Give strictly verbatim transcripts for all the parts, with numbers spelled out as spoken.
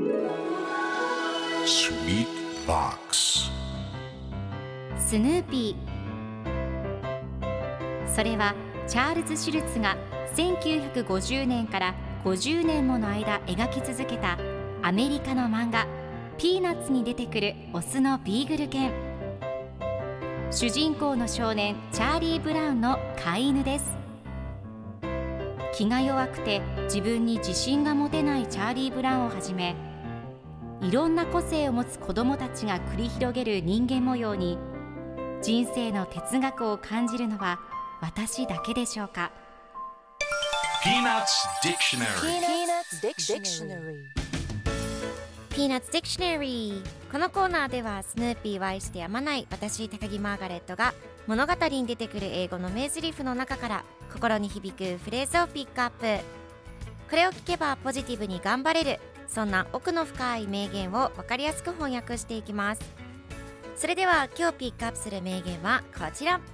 Sweet Box スヌーピー。それはチャールズ・シュルツがせんきゅうひゃくごじゅうねんからごじゅうねんもの間描き続けたアメリカの漫画ピーナッツに出てくるオスのビーグル犬。主人公の少年チャーリー・ブラウンの飼い犬です。気が弱くて自分に自信が持てないチャーリー・ブラウンをはじめ、いろんな個性を持つ子どもたちが繰り広げる人間模様に人生の哲学を感じるのは私だけでしょうか。 Peanuts Dictionary Peanuts Dictionary Peanuts Dictionary。 このコーナーではスヌーピーを愛してやまない私高木マーガレットが物語に出てくる英語の名台詞の中から心に響くフレーズをピックアップ。これを聞けばポジティブに頑張れる、そんな奥の深い名言を分かりやすく翻訳していきます。それでは今日ピックアップする名言はこちら。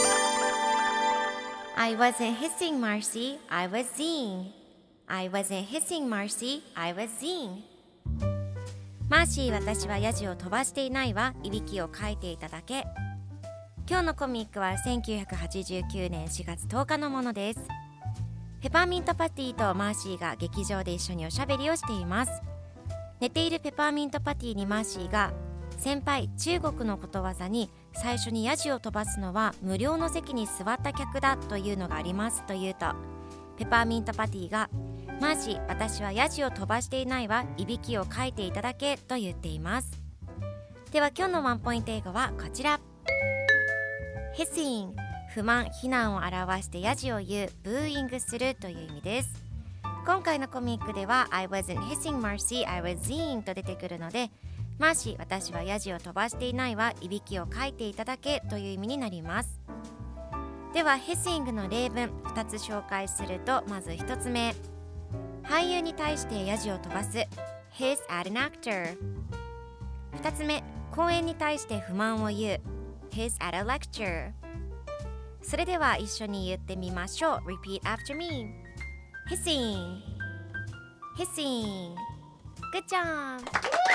I wasn't hissing Marcy, I was seeing I wasn't hissing Marcy, I was seeing。 マーシー、私はヤジを飛ばしていないわ、いびきをかいていただけ。今日のコミックはせんきゅうひゃくはちじゅうきゅうねんしがつとおかのものです。ペパーミントパティとマーシーが劇場で一緒におしゃべりをしています。寝ているペパーミントパティにマーシーが、先輩、中国のことわざに最初にヤジを飛ばすのは無料の席に座った客だというのがありますと言うと、ペパーミントパティが、マーシー、私はヤジを飛ばしていないわ、いびきをかいていただけと言っています。では今日のワンポイント英語はこちら。 Hissing、 不満、非難を表してヤジを言う、ブーイングするという意味です。今回のコミックでは I wasn't hissing Marcy, I was seeing と出てくるので、マーシー、私はヤジを飛ばしていないわ、いびきをかいていただけという意味になります。では Hissing の例文ふたつ紹介すると、まずひとつめ、俳優に対してヤジを飛ばす Hiss at an actor。 ふたつめ、講演に対して不満を言う Hiss at a lecture。 それでは一緒に言ってみましょう。 Repeat after me。 Hissing Hissing Good job。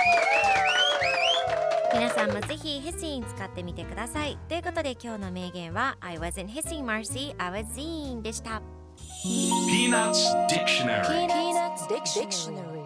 皆さんもぜひ Hissing 使ってみてください。ということで今日の名言は I wasn't hissing Marcy, I was seeing でした。 Peanuts Dictionary Peanuts Dictionary